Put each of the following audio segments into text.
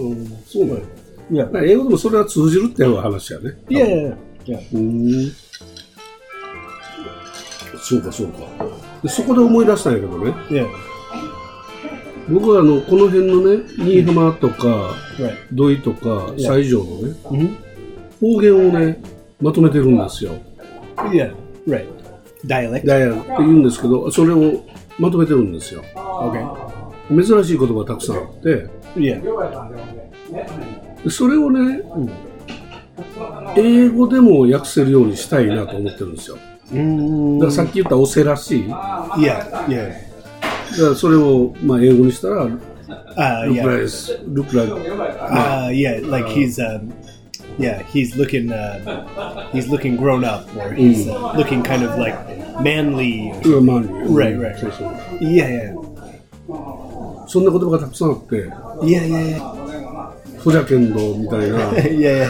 そうなんや。 Yeah. 英語でもそれは通じるっていう話やね。 Yeah. そうか。でそこで思い出したんやけどね。 Yeah. 僕はこの辺のね、新居浜とか、 Right. 土井とか、西条のね、 Mm-hmm. 方言をね、まとめてるんですよ。 Yeah. Right. Dialect. ダイヤって言うんですけど、それをまとめてるんですよ。 Okay. 珍しい言葉がたくさんあって、 Yeah. でそれをね、英語でも訳せるようにしたいなと思ってるんですよ。だからさっき言ったオセらしい。だか Yeah. らそれをまあ英語にしたら、look Yeah. like Yeah. Like he's looking grown up, or he's looking kind of like manly. マンリー。 Right. そうそう。 Yeah. そんな言葉がたくさんあって、 Yeah. ホジャケンドみたいな、 Yeah.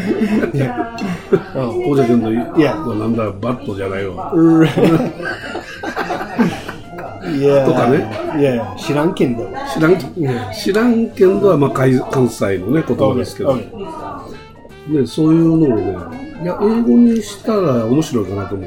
ホジャケンド、 Yeah. なんだ、バットじゃないわ。 Yeah. とかね。 Yeah. 知らんけんど。 知らんけんどはまあ関西のね言葉ですけど、ね、そういうのをね、いや英語にしたら面白いかなと思って。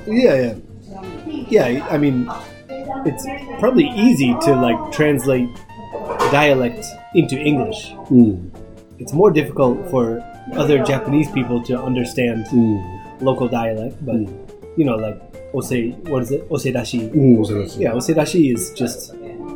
Yeah. I mean, it's probably easy to like translate dialect into English. It's more difficult for other Japanese people to understand local dialect, but you know, like what is it? Osedashi. そうです。 Yeah, osedashi is just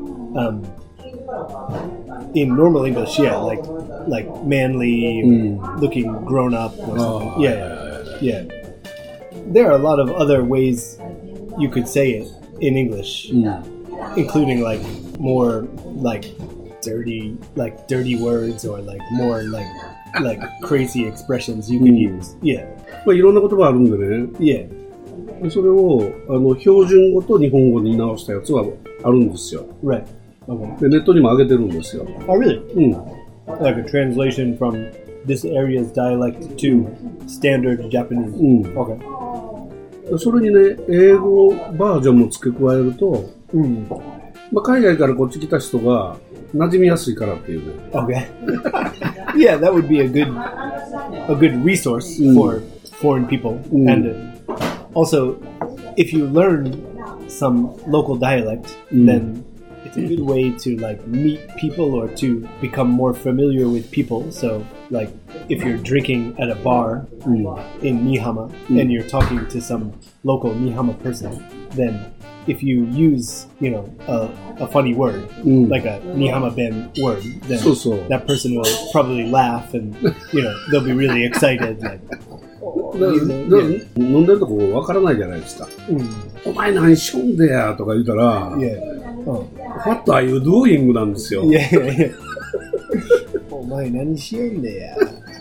in normal English, like manly, looking grown up or something. Yeah. There are a lot of other ways you could say it in English, including like more like dirty words, or like more like crazy expressions you could use. Yeah. まあいろんな言葉あるんでね。 Yeah. それを標準語と日本語に直したやつはあるんですよ。 Right. Okay. でネットにも上げてるんですよ。 Oh, really? うん。 Like a translation from this area's dialect to standard Japanese. Okay. それにね英語バージョンも付け加えると、まあ、海外からこっち来た人が馴染みやすいからっていうね。 Okay. Yeah, that would be a good resource for foreign people. And also, if you learn some local dialect, then it's a good way to like meet people or to become more familiar with people. So, like if you're drinking at a bar in Nihama and you're talking to some local Nihama person, then if you use, you know, a funny word, like a Nihama Ben word, then that person will probably laugh and, you know, they'll be really excited. Like, 飲んでるとこわからないじゃないですか。お前何しょんでやとか言ったら、What are you doing なんですよ。 お前何しよんでや。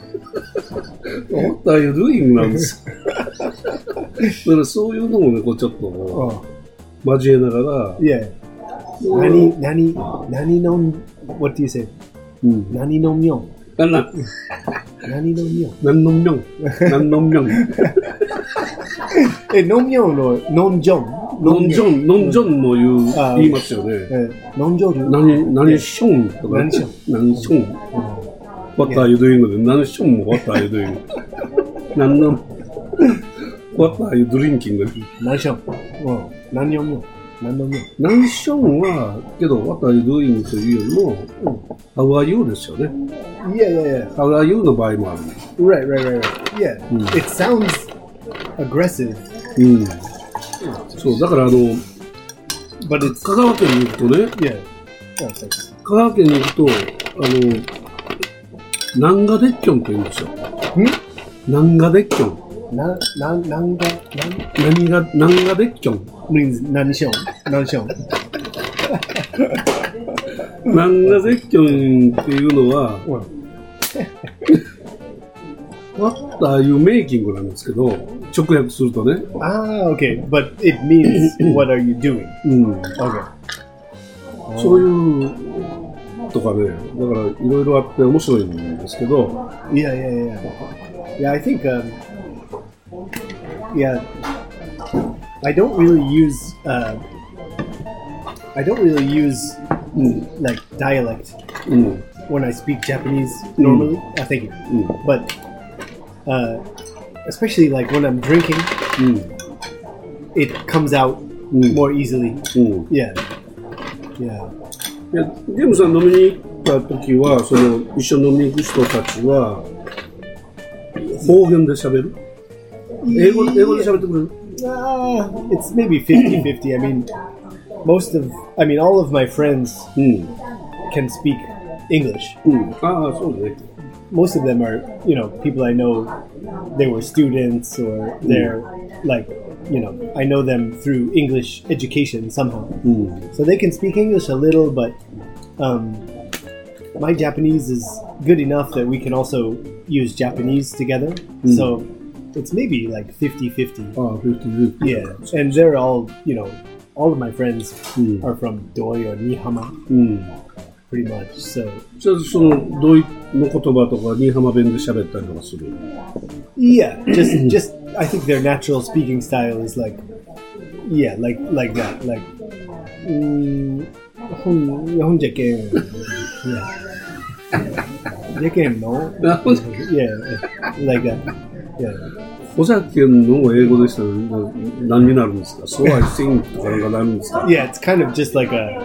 What are you doing なんですよ。だからそういうのもね、こうちょっと交えながら、 何の、what do you say? 何のみょん。何のみょん。 何のみょん。何のみょん。 のみょんのノンジョン。 ノンジョンも言いますよね。 ノンジョン。 何ションとか。何ション。What are you doing で、何ションも What are you doing。何の、What are you drinking で。 何ション。何のみょん。 何ションは、けど、What are you doing というよりも、How are you ですよね。 Yeah. How are you の場合もある。 Right. Yeah. It sounds aggressive. そう、だから香川県に行くとね、香川県に行くと、南賀デッキョンって言うんですよ。南賀デッキョン。南賀デッキョン。 means 何ション。 南賀デッキョンっていうのは、What are you making なんですけど、直訳するとね。 Okay. But it means what are you doing? Okay. そういうとかね、だからいろいろあって面白いんですけど。 Yeah, I think, I don't really use like dialect when I speak Japanese normally. Thank you. But especially like when I'm drinking, it comes out more easily. Yeah. いやジェームさん飲みに行った時はその一緒に飲みに行く人たちは方言で喋る？英語で喋ってくれる ？It's maybe 50-50. I mean, all of my friends can speak English. そうね。 Most of them are, people I know. They were students, or they're like, I know them through English education somehow. So they can speak English a little, but my Japanese is good enough that we can also use Japanese together. So it's maybe like 50-50. 50-50. Yeah, and they're all, all of my friends are from Doi or Nihama, pretty much. So じゃあそのドイの言葉とか新居浜弁で喋ったりとかする？ Yeah, just I think their natural speaking style is like that, like 日本じゃけん じゃけんの yeah, like that. Yeah. お酒の英語でしたら何になるんですか？ So I think とかなんかなるんですか？ Yeah, it's kind of just like I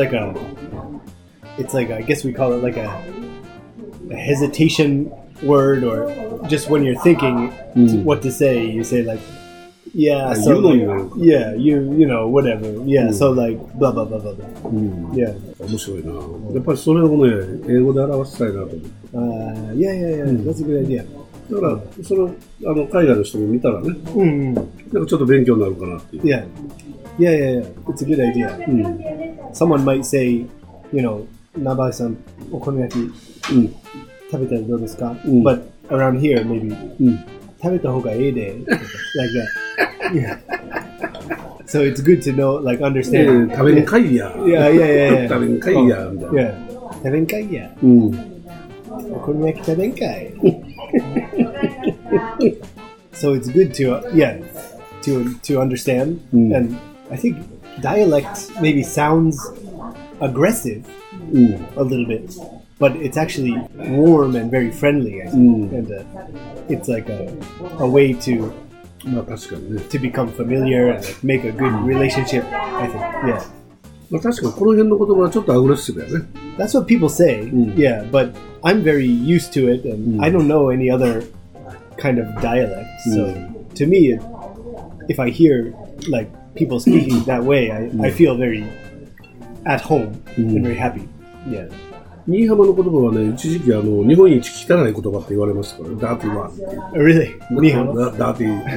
guess we call it like a hesitation word, or just when you're thinking what to say, you say like, yeah, so like, yeah, whatever, yeah, so like blah blah blah blah blah. Yeah. 面白いな。やっぱりそれをね英語で表したいなと思って。 Yeah, that's a good idea. だからその海外の人も見たらね、なんかちょっと勉強になるかなっていう。 Yeah. It's a good idea. Someone might say, ナバイさんお好み焼き食べたらどうですか？ But around here maybe 食べた方がいいで like that. Yeah. So it's good to know, like understand. 食べんかいや。 Yeah. 食べんかいやみたいな。 Yeah. 食べんかいや。お好み焼き食べんかい。So it's good to understand, and I think dialect maybe sounds aggressive a little bit, but it's actually warm and very friendly, I think. And it's like a way to become familiar and like, make a good relationship, I think. Yeah. 確かにこの辺の言葉はちょっとアグレッシブだよね。 That's what people say, yeah, but I'm very used to it, and I don't know any other kind of dialect. So to me, if I hear like people speaking that way, I feel very at home and very happy. Yeah. 新居浜の言葉はね、一時期日本一汚い言葉って言われましたからね。ダーティーワード。 Really? 新居浜？ ダーティ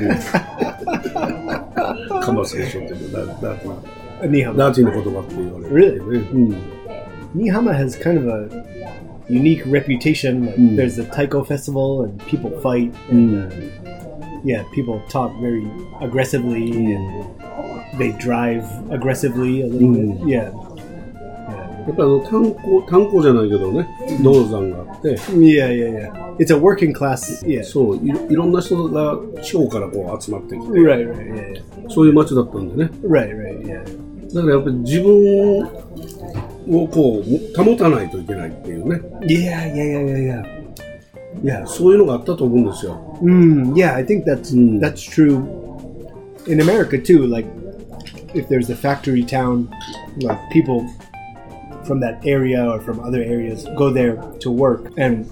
ー。カマセーションっていうのダーティー。 新居浜。 ダーティーの言葉って言われる。 Really? 新居浜 has kind of a unique reputation. Like, there's the Taiko festival, and people fight, and people talk very aggressively, and they drive aggressively a little bit. Yeah. やっぱり炭鉱じゃないけどね、銅山があって。 Yeah. It's a working class. Yeah. そう、いろんな人が地方からこう集まってきて。 Right. Yeah. そういう街だったんでね。 Right. Yeah. だからやっぱり自分をこう保たないといけないっていうね。 Yeah. そういうのがあったと思うんですよ。 Yeah, I think that's true in America too. Like, if there's a factory town, like people from that area or from other areas go there to work, and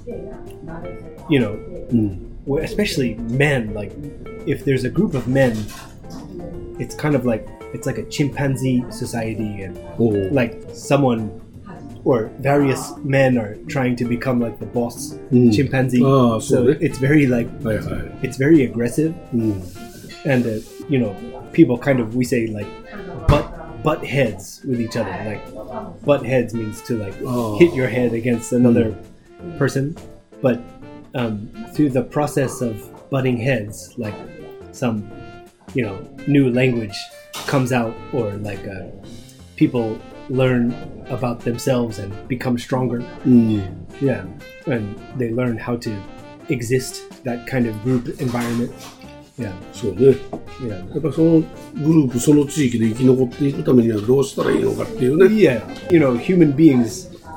especially men. Like, if there's a group of men, it's kind of like it's like a chimpanzee society, and like someone or various men are trying to become like the boss chimpanzee. So it's very like it's very aggressive, and people kind of, we say like butt heads with each other. Like, butt heads means to like hit your head against another person, but through the process of butting heads, like some new language comes out, or like people learn about themselves and become stronger. Yeah, and they learn how to exist, that kind of group environment. Yeah. そうね。やっぱそのグループ、その地域で生き残っていくためにはどうしたらいいのかっていうね。 Yeah. Human beings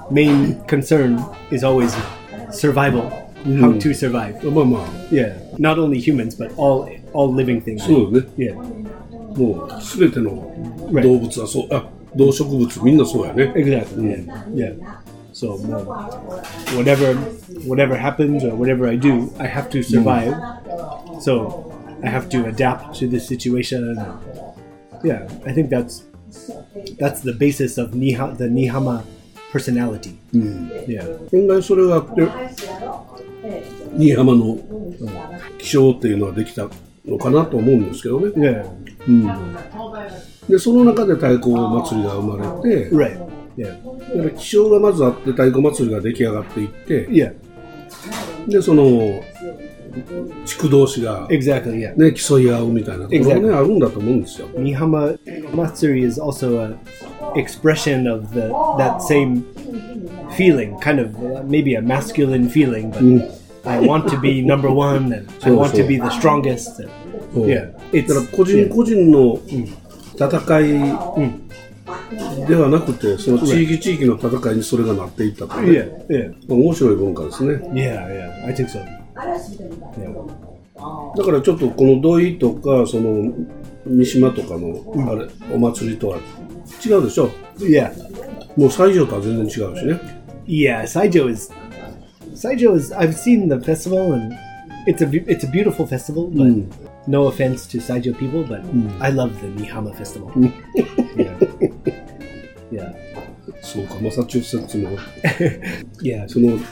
main concern is always survival, how to survive. まあまあ、 Yeah, not only humans but all living things. そうだね。 Yeah, もうすべての動物はそう、動植物みんなそうやね。 exactly. Yeah. So whatever happens or whatever I do, I have to survive. So I have to adapt to this situation. Yeah, I think that's the basis of the Nihama personality. Yeah. 本来それがあって新居浜の気象っていうのはできたのかなと思うんですけどね。 Yeah. でその中で太鼓祭りが生まれて、 Right. Yeah. だから気象がまずあって太鼓祭りが出来上がっていって、 Yeah. でその地区同士が、 Exactly. Yeah. ね、競い合うみたいなところが、ね、あるんだと思うんですよ。 Nihama Matsuri is also an expression of that same feeling, kind of maybe a masculine feeling, but I want to be number one and I want to be the strongest. And, そう yeah, だ it's から個人個人の戦いではなくて、その地域地域の戦いにそれがなっていったという、 yeah, yeah, 面白い文化ですね。 yeah, yeah. I think so. Yeah. だからちょっとこの土井とかその三島とかのあれ、お祭りとは違うでしょ。 Yeah. もう西条とは全然違うしね。 Yeah, Saijo is I've seen the festival and it's a beautiful festival, but no offense to Saijo people, but I love the Nihama festival. Yeah. Yeah. そうか、マサチューセッツも Yeah. そのね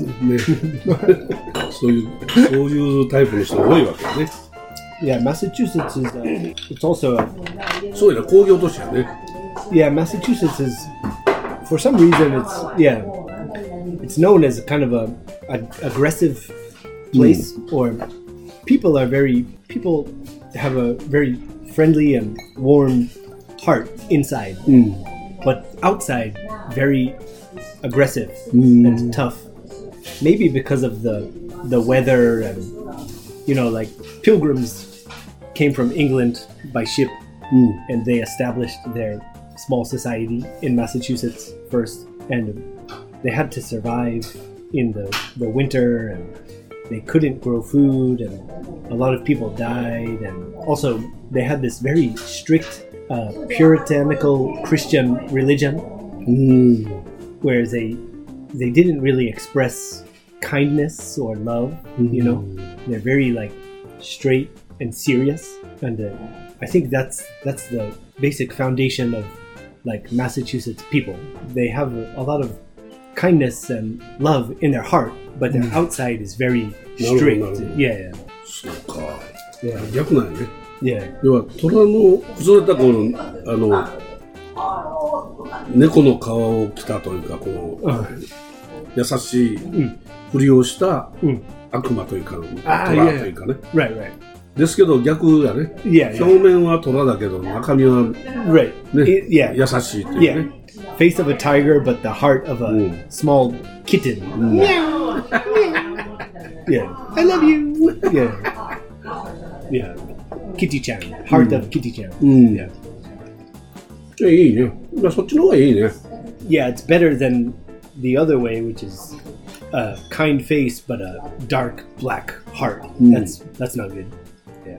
そういうタイプの人が多いわけよね。 Yeah, Massachusetts is it's also そうやな、工業都市やね。 yeah, Massachusetts is for some reason it's known as kind of a aggressive place or people have a very friendly and warm heart inside, but outside very aggressive and tough. Maybe because of the weather and like pilgrims came from England by ship and they established their small society in Massachusetts first, and they had to survive in the winter and they couldn't grow food and a lot of people died, and also they had this very strict puritanical Christian religion where they didn't really express kindness or love. They're very like straight and serious, and I think that's the basic foundation of like Massachusetts people. They have a lot of kindness and love in their heart, but their outside is very strict. Yeah, そうか。 yeah, 逆なんやね。 yeah. 要は虎の崩れたこの猫の皮を着たというか、この優しいふりをした悪魔というか、虎というかね。 Right, right. ですけど逆やね。 Yeah, yeah. 表面は虎だけど中身は Right. ね、 Yeah. 優しいという Yeah. ね。 Face of a tiger, but the heart of a small kitten. Yeah. I love you. Yeah. Yeah. Kitty-chan. Heart of Kitty-chan. Yeah. いいね。そっちの方がいいね。 Yeah, it's better than the other way, which is a kind face but a dark black heart. That's not good. Yeah.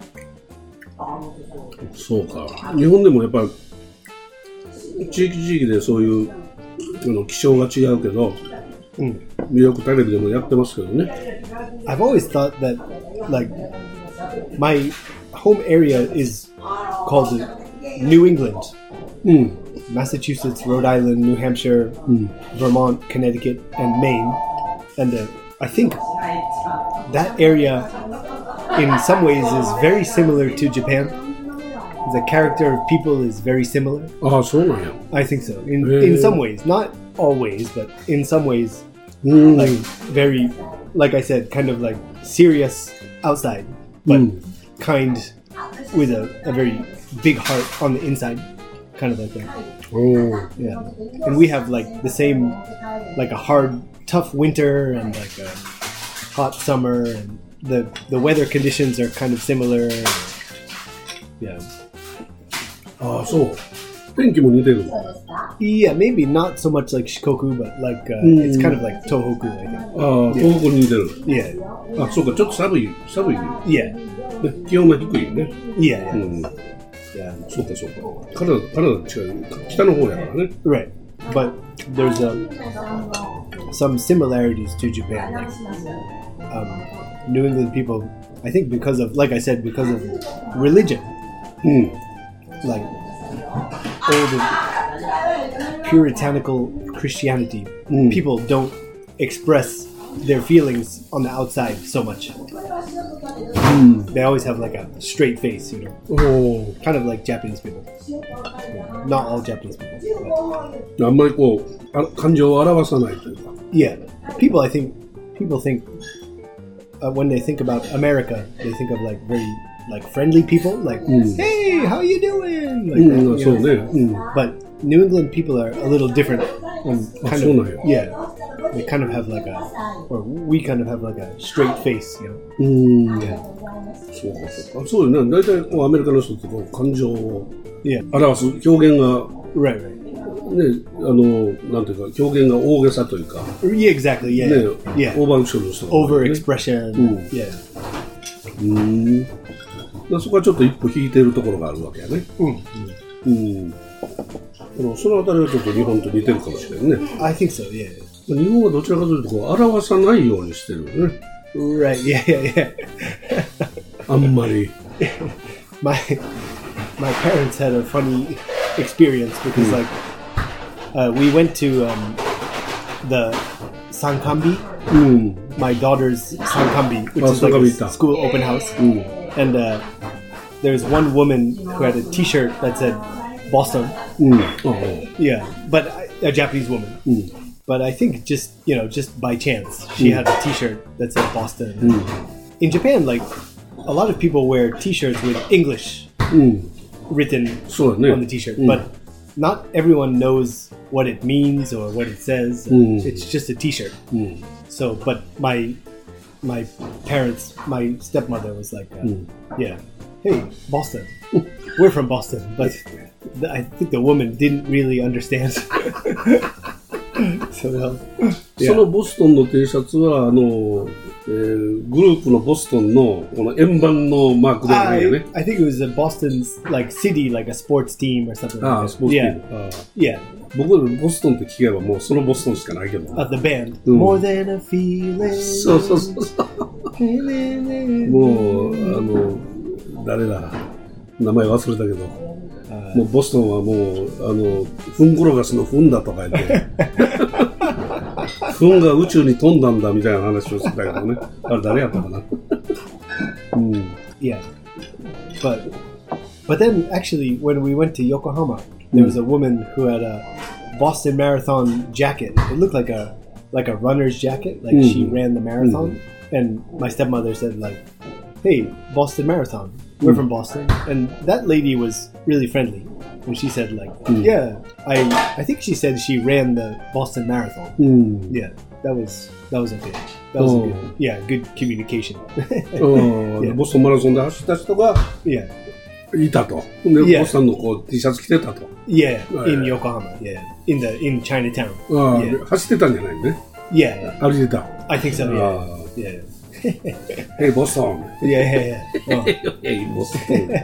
そうか。日本でもやっぱ地域地域でそういう気象が違うけど、よくテレビでもやってますけどね。 I've always thought that, like, my home area is called New England. Massachusetts, Rhode Island, New Hampshire, Vermont, Connecticut, and Maine. And I think that area, in some ways, is very similar to Japan. The character of people is very similar. ああ、そうなんや。 I think so. In some ways, not always, but in some ways, うん。 like very, like I said, kind of like serious outside, but kind with a very big heart on the inside, kind of like that. おー Yeah, and we have like the same, like a hard, tough winter and like a hot summer, and the weather conditions are kind of similar. Yeah. ああ、そう。 天気も似てる。 Yeah, maybe not so much like Shikoku, but like it's kind of like Tohoku, I think. ああ、東北に似てる。 Yeah, あ、そうか、ちょっと寒い。 yeah, ね、気温が低いね。 yeah, yeah. うん。 Yeah. そうか、そうか。カナダ違う。北の方やからね。 Right, but there's some similarities to Japan. Like, New England people, I think, because of, like I said, because of religion, うん。 like old puritanical Christianity, people don't express their feelings on the outside so much. They always have like a straight face, you know, おー kind of like Japanese people. Not all Japanese people. But あんまりこう、感情を表さないというか。 yeah, people think when they think about America, they think of like very like friendly people, like hey, how you doing? Like う that, ん、 you そう know? ね。うん。 But New England people are a little different. And kind so of, nice. yeah, they kind of have like or we kind of have like a straight face, you know. うん。 Yeah, そうか、そうか。そうよね。大体こうアメリカの人ってこう感情を yeah, 表す表現が、 right, right. ね、なんていうか、表現が大げさというか、 Yeah, exactly. Yeah, ね、 yeah. オーバーアクションの人が多いね。 Overexpression. Yeah. そこはちょっと一歩引いてるところがあるわけやね。そのあたりはちょっと日本と似てるかもしれないね。 I think so. Yeah. 日本はどちらかというとこう表さないようにしてるよね。 Right. Yeah, yeah, yeah. あんまり。 My parents had a funny experience because like we went to the Sankambi, うん。 my daughter's Sankambi, which Oh, is like a Sankambi. school open house. And there was one woman who had a T-shirt that said Boston. うん。ああ。 Yeah, but a Japanese woman. But I think just by chance, she had a T-shirt that said Boston. In Japan, like a lot of people wear T-shirts with English うん。 written そうだね。 on the T-shirt, but not everyone knows what it means or what it says. It's just a T-shirt. So, but my parents, my stepmother was like, yeah, hey, Boston. We're from Boston, but I think the woman didn't really understand. So, そのボストンの T シャツはグループのボストンのこの円盤のマークではないよね。 I think it was a Boston's like city, like a sports team or something. ああ、 like スポーツ that. チーム。ああ Yeah, 僕はボストンって聞けばもうそのボストンしかないけど。 the band. More than a feeling. そうそうそうそう。もう誰だ名前忘れたけど、もうボストンはもうフンコロガスのフンだとか言ってフンが宇宙に飛んだんだみたいな話をしてたけどね。あれ誰やったかな。 Yeah, but then actually when we went to Yokohama, there was a woman who had a Boston Marathon jacket. It looked like a runner's jacket, like she ran the marathon. And my stepmother said like, "Hey, Boston Marathon. We're from Boston." And that lady was really friendly. And she said like, "Yeah, I think she said she ran the Boston Marathon." Yeah, that was okay. That was a good communication. ボストンマラソンで走った人が Yeah. いたと。で、ボストンのこう T シャツ着てたと。 Yeah, in Yokohama. Yeah, in Chinatown. ああ、 Yeah. 走ってたんじゃないね。 Yeah, 歩いてた。 I think so. あ Yeah, あ yeah, ヘイボストン。 yeah. Oh. ヘイボストン。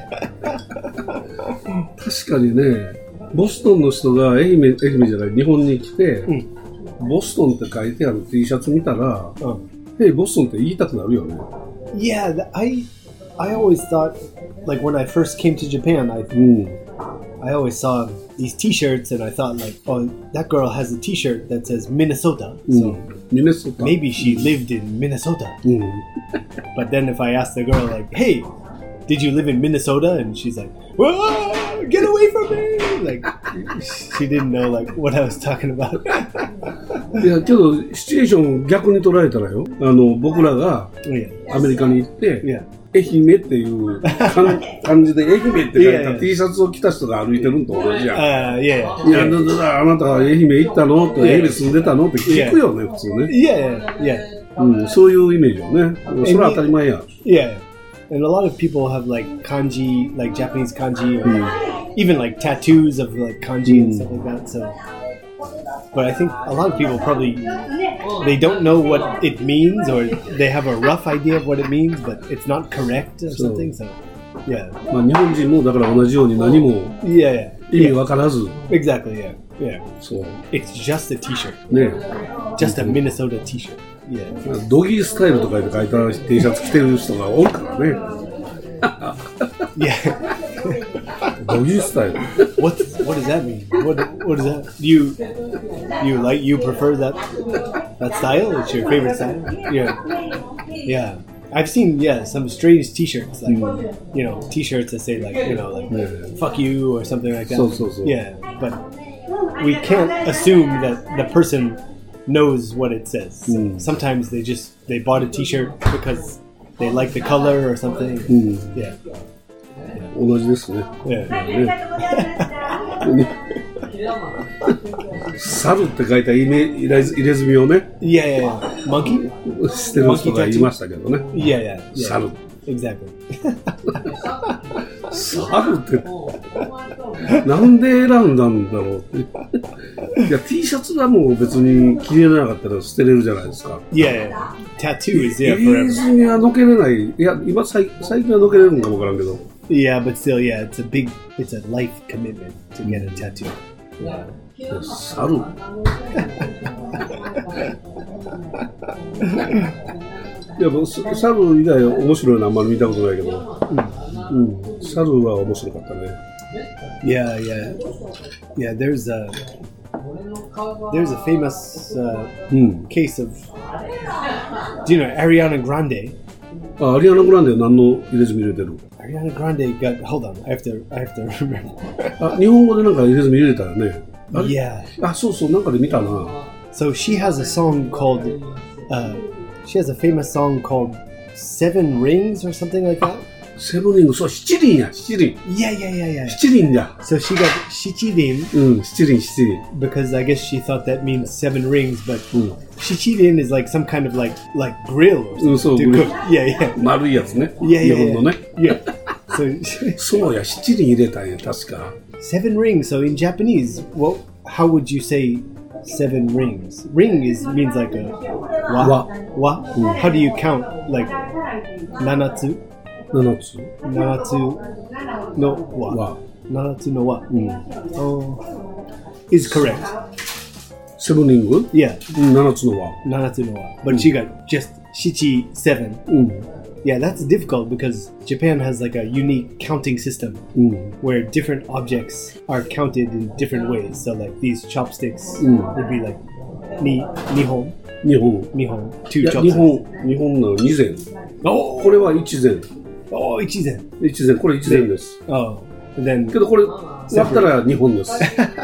確かにね、ボストンの人が愛媛じゃない日本に来て、ボストンって書いてある T シャツ見たら、ヘイボストンって言いたくなるよね。 Yeah, I always thought, like when I first came to Japan, I always saw these T-shirts and I thought like, oh, that girl has a T-shirt that says Minnesota, so ミネソタ。 maybe she lived in Minnesota. But then if I asked the girl like, hey, did you live in Minnesota? And she's like, whoa, get away from me! Like she didn't know like what I was talking about. いや、けど、シチュエーションを逆に捉えたらよ、僕らが Yeah. アメリカに行って、 Yeah. 愛媛っていう感じで愛媛って書いた Yeah, yeah. T シャツを着た人が歩いてるのと同じやん。 Yeah. いや、あなたは愛媛行ったのって、 Yeah. 愛媛住んでたのって聞くよね、普通ね。 Yeah. そういうイメージよね。それは当たり前や。 Yeah. And a lot of people have like kanji, like Japanese kanji, or even like tattoos of like kanji and stuff like that. So, but I think a lot of people probably they don't know what it means, or they have a rough idea of what it means, but it's not correct or something. So, yeah. まあ日本人もだから同じように何も Yeah, yeah. 意味わからず、 Exactly, yeah. Yeah. そう It's just a t-shirt. ね、 Just a Minnesota t-shirt. Yeah. ドギースタイルとかで書いた T シャツ着てる人が多いからね。 Yeah. ドギースタイル。 What does that mean? What is that? You prefer that style? It's your favorite style? Yeah. Yeah. I've seen some strange t-shirts like t-shirts that say like fuck you or something like that. So. Yeah, but we can't assume that the person knows what it says. Sometimes they bought a t-shirt because they like the color or something. Yeah. 同じですね。 Yeah. 猿って書いた入れ墨をね、 Yeah. Monkey? してる人がいましたけどね。 Yeah. 猿。 Exactly. 猿ってなんで選んだんだろうって。いや T シャツはもう別に着れなかったら捨てれるじゃないですか。 Yeah. Tattoo is 入れ forever. 墨はのけれない。いや今最近はのけれるんかもわからんけど。 Yeah, but still, it's a life commitment to get a tattoo. 猿。いやもう猿以外面白いのあんまり見たことないけど、猿は面白かったね。 Yeah. There's a famous case of. Do you know Ariana Grande? あ、アリアナ・グランデは何の入れ墨入れてる？ Ariana Grande got. Hold on, I have to remember. あ、日本語でなんか入れ墨入れたよね。あれ Yeah. あ、そうなんかで見たな。 So she has a song called. She has a famous song called Seven Rings or something like that. セブンリング、そう七輪や七輪。 Yeah. 七輪だ。 So she got shichirin 七輪。 because I guess she thought that means seven rings, but shichirin is like some kind of like grill or something to grill. cook. Yeah. 丸いやつね。 Yeah. 日本のね。 Yeah. So そうや、七輪入れたんや、確か。 seven rings. So in Japanese, how would you say seven rings? Ring means like a wa. How do you count like nanatsu? 七つ。 Nanatsu no wa. Wa. Nanatsu no wa. Is correct. セブンリング？ Yeah. 七つの輪。 Nanatsu no wa. But she got just shichi seven. Yeah, that's difficult because Japan has like a unique counting system where different objects are counted in different ways. So like these chopsticks would be like nihon. 日本。 Nihon. い Two や、 chopsticks. 日本の二膳。 Oh, これは一膳。 oh, ichizen. 一膳、これ一膳です。 Oh, and then けどこれ、割ったら日本です。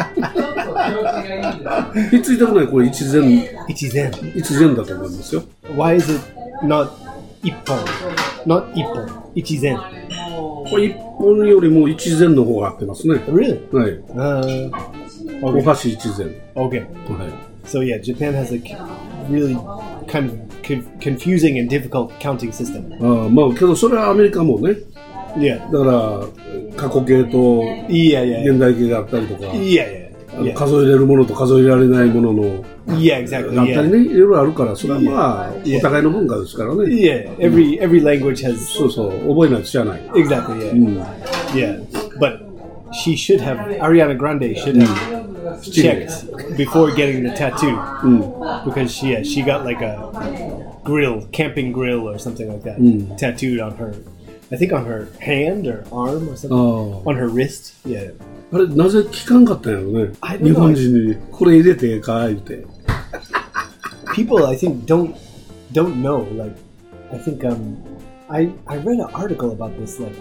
ひっついてるのはこれ一膳 ichizen. 一膳だと思いますよ。 Why is it not ippon? Not ippon. Ichizen. これ一本よりも一膳の方が合ってますね。 Really? はい。お Okay. 箸一膳。 Okay. はい。 So yeah, Japan has a really kind of confusing and difficult counting system. ああ、まあけどそれはアメリカもね。 Yeah. だから過去形と Yeah. 現代形があったりとか、 Yeah. 数えれるものと数えられないものの Yeah, exactly. あったり Yeah. ね、いろいろあるから、それはまあ Yeah. お互いの文化ですからね。 Yeah. Every language has そうそう、覚えないと知らない。 exactly. Yeah. Yeah. But she should have Ariana Grande should have checked before getting the tattoo because she got like a camping grill or something like that tattooed on her. I think on her hand or arm or something. On her wrist. Yeah. あれ、なぜ聞かんかったんやろね。 I don't know. 日本人に、これ入れてええか言うて。 People I think don't know. Like I think I read an article about this. Like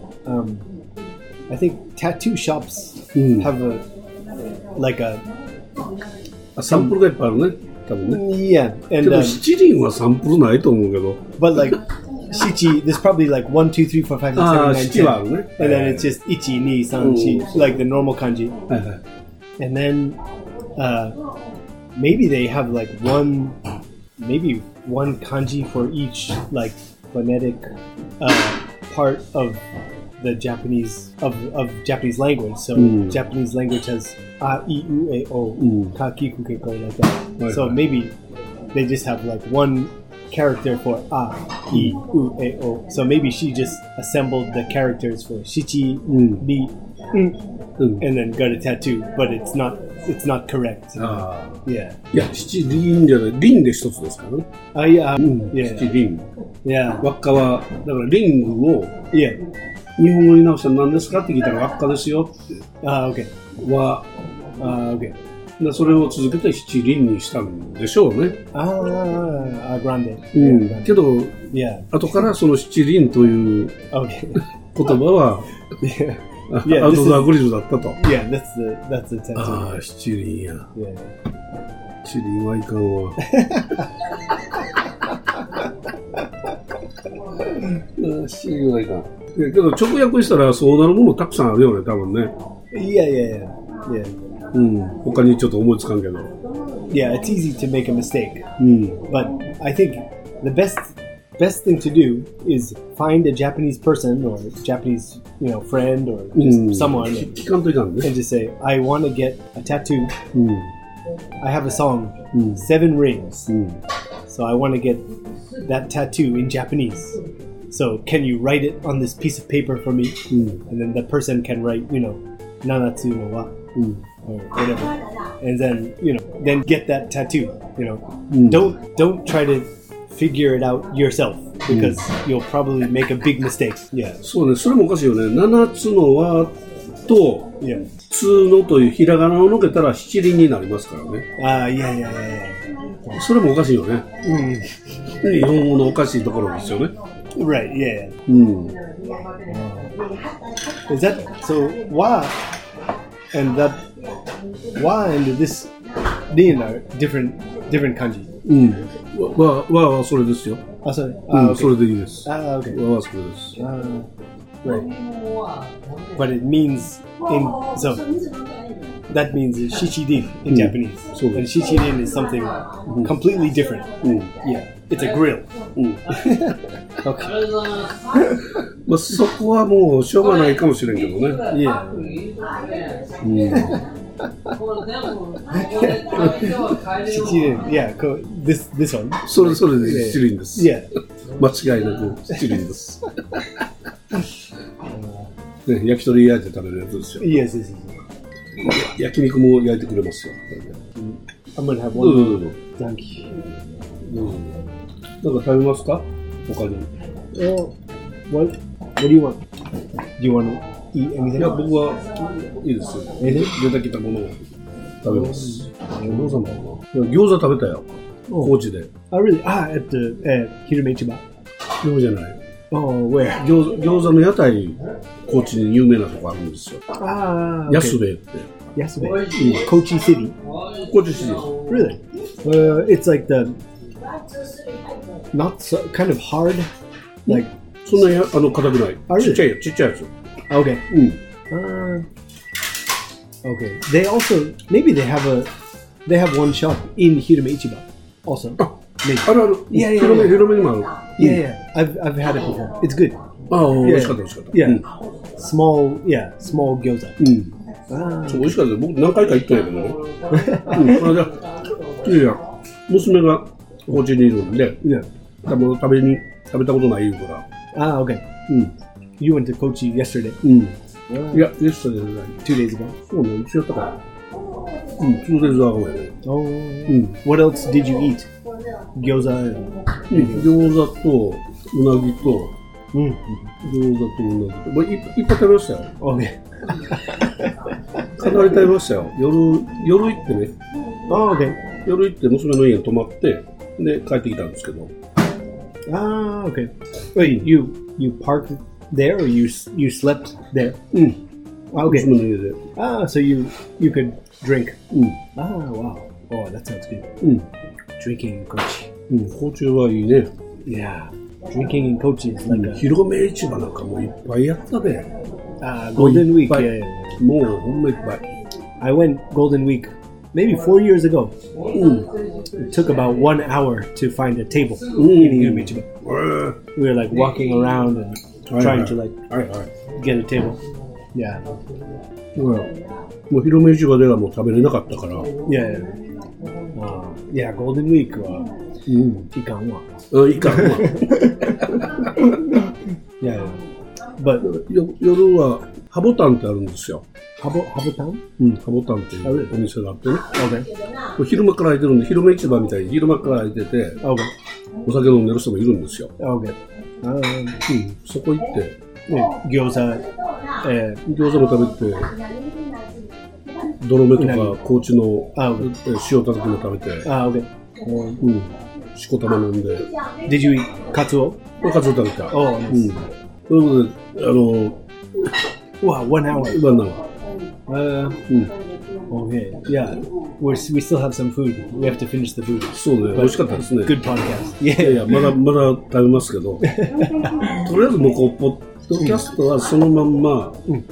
I think tattoo shops have a サンプルがいっぱいあるね。多分ね。 yeah け and ど、七輪はサンプルないと思うけど。 but like shichi there's probably like 1 2 3 4 5 6 7 8 七はあるね。 and then it's just ichi ni san chi like the normal kanji はいはい。 and then maybe they have like one kanji for each like phonetic part of the Japanese of Japanese language. So Japanese language has a, I, U, E, O, ka, ki, ku, ke, ko, like that. So maybe they just have like one character for a, I, U, E, O. So maybe she just assembled the characters for shichi, ni, and then got a tattoo, but it's not correct. Yeah. いや、七輪じゃない、輪で一つですからね。七輪。 Yeah. 輪っかは、だからリングを、 Yeah. 日本語に直したら何ですかって聞いたら輪っかですよって。 Okay. は、 Okay. でそれを続けて七輪にしたんでしょうね。 Grande. けど、 Yeah. 後からその七輪という言葉は、アウトドアグリルだったと。 Yeah, that's the tattoo. ああ、七輪や。 Yeah. 七輪はいかんわ。七輪はいかん。けど直訳したらそうなるものたくさんあるよね、多分ね。 Yeah. 他にちょっと思いつかんけど。 Yeah, it's easy to make a mistake. But I think the best thing to do is find a Japanese person or Japanese, friend or just someone and just say, I want to get a tattoo. I have a song, Seven Rings. So I want to get that tattoo in Japanese. So can you write it on this piece of paper for me? And then the person can write, Nanatsu no wa or whatever. And then, then get that tattoo. Don't try to figure it out yourself because you'll probably make a big mistake. Yeah. そうね、それもおかしいよね。七つの輪とつのというひらがなをのけたら七輪になりますからね。 Yeah. それもおかしいよね。日本語のおかしいところですよね。 Right. Yeah. Is that so? Wa and this rin are different kanji. はそれですよ。 それ。 それでいいです。 Okay. はそれです。 Right. But it means so that means shichirin in Japanese. And shichirin is something completely different. Yeah. It's a grill. Okay. まあそこはもうしょうがないかもしれんけどね。 Yeah. Shichirin. Yeah. This one. それで七輪です。 Yeah. 間違いなく七輪です。ね、焼き鳥焼いて食べるやつですよ。 Yes. 焼肉も焼いてくれますよ。 I'm gonna have one. Thank you. なんか食べますか？他に。 What do you want? Do you want to eat anything? いや、僕はいいですよ。出てきたものを食べます。餃子食べたよ。高知で。 Really? At the Hirume Ichiba? そうじゃない。 Where? 餃子の屋台、高知に有名なとこあるんですよ。安兵衛って。 安兵衛。Kochi City? 高知市。 Really? It's like the not so kind of hard, like そんなに硬くない。ちっちゃいやつ。 Okay. Okay. They also maybe they have one shop in Hirume Ichiba also. Maybe. ある。広めにもある。 Yeah. I've had it before. It's good. 美味しかった。 Yeah. Small gyoza. そう美味しかった。僕何回か行ったんやけどね。いや娘が高知にいるんで、多分食べたことない言うから。 Okay. You went to Kochi yesterday. いや、yesterday じゃない。 2 days ago. そうね、一緒やったから。2 days ago やね。 What else did you eat? Gyoza. 餃子とうなぎと、餃子とうなぎと。まあ、いっぱい食べましたよ。 Okay. かなり食べましたよ。夜行ってね。 Okay. 夜行って娘の家に泊まって、で、帰ってきたんですけど。 Okay. Wait, you parked there or you slept there? Okay. 娘の家で。 So you could drink. Wow. Oh, that sounds good. Drinking in Kochi. 高知はいいね。 Yeah. Drinking in Kochi is like a... 広め市場なんかもういっぱいやったで。 Golden Week. Yeah. もうほんまいっぱい。 I went Golden Week maybe 4 years ago. It took about 1 hour to find a table in Hirume Ichiba. We were like walking around and trying to like get a table. Yeah. もう広め市場ではもう食べれなかったから。 Yeah. Yeah, Golden Week は、いかんわ。 いかんわ。 Yeah. But 夜はハボタンってあるんですよ。 ハボタン？ ハボタンっていうお店があってね。 Okay. 昼間から開いてるんで、広め市場みたいに昼間から開いてて、 Okay. お酒飲んでる人もいるんですよ。 Okay. そこ行って、 餃子も食べて、泥目とか高知の塩たたきも食べて、しこたま飲んで。 Did you eat カツオ？ カツオ食べた。 Oh, nice. ということで、 Wow, 1 hour. 1 hour. Okay. Yeah. We still have some food. We have to finish the food. そうね、美味しかったですね。 Good podcast. いや、まだ食べますけど。とりあえずもうポッドキャストはそのまんま、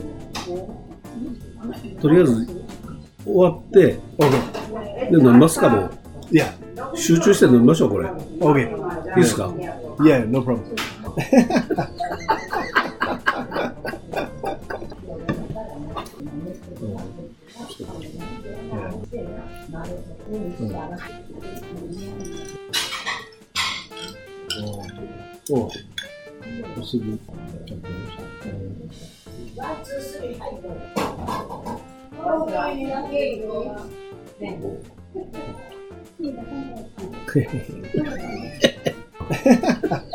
とりあえず終わって、で、飲みますかも。 Yeah. 集中して飲みましょう、これ。 Okay. いいですか？ Yeah, no problem. Oh, this should be okay.